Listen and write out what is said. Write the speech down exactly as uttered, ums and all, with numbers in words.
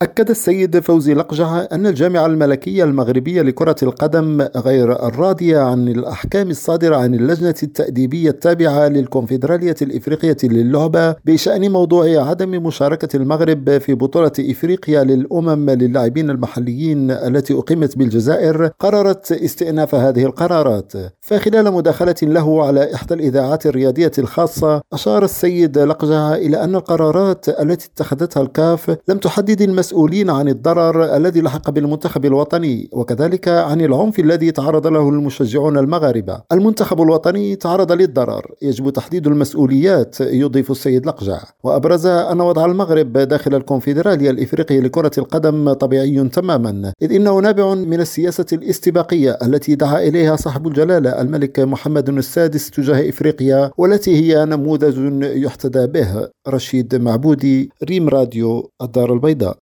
أكد السيد فوزي لقجع أن الجامعة الملكية المغربية لكرة القدم غير الراضية عن الأحكام الصادرة عن اللجنة التأديبية التابعة للكونفدرالية الإفريقية للعبة بشأن موضوع عدم مشاركة المغرب في بطولة إفريقيا للأمم للاعبين المحليين التي أقيمت بالجزائر، قررت استئناف هذه القرارات. فخلال مداخلة له على إحدى الإذاعات الرياضية الخاصة، أشار السيد لقجع إلى أن القرارات التي اتخذتها الكاف لم تحدد المسؤولين عن الضرر الذي لحق بالمنتخب الوطني، وكذلك عن العنف الذي تعرض له المشجعون المغاربة. المنتخب الوطني تعرض للضرر، يجب تحديد المسؤوليات، يضيف السيد لقجع. وأبرز أن وضع المغرب داخل الكونفدرالية الإفريقية لكرة القدم طبيعي تماما، إذ إنه نابع من السياسة الاستباقية التي دعا إليها صاحب الجلالة الملك محمد السادس تجاه إفريقيا، والتي هي نموذج يحتذى به. رشيد معبودي، ريم راديو، الدار البيضاء.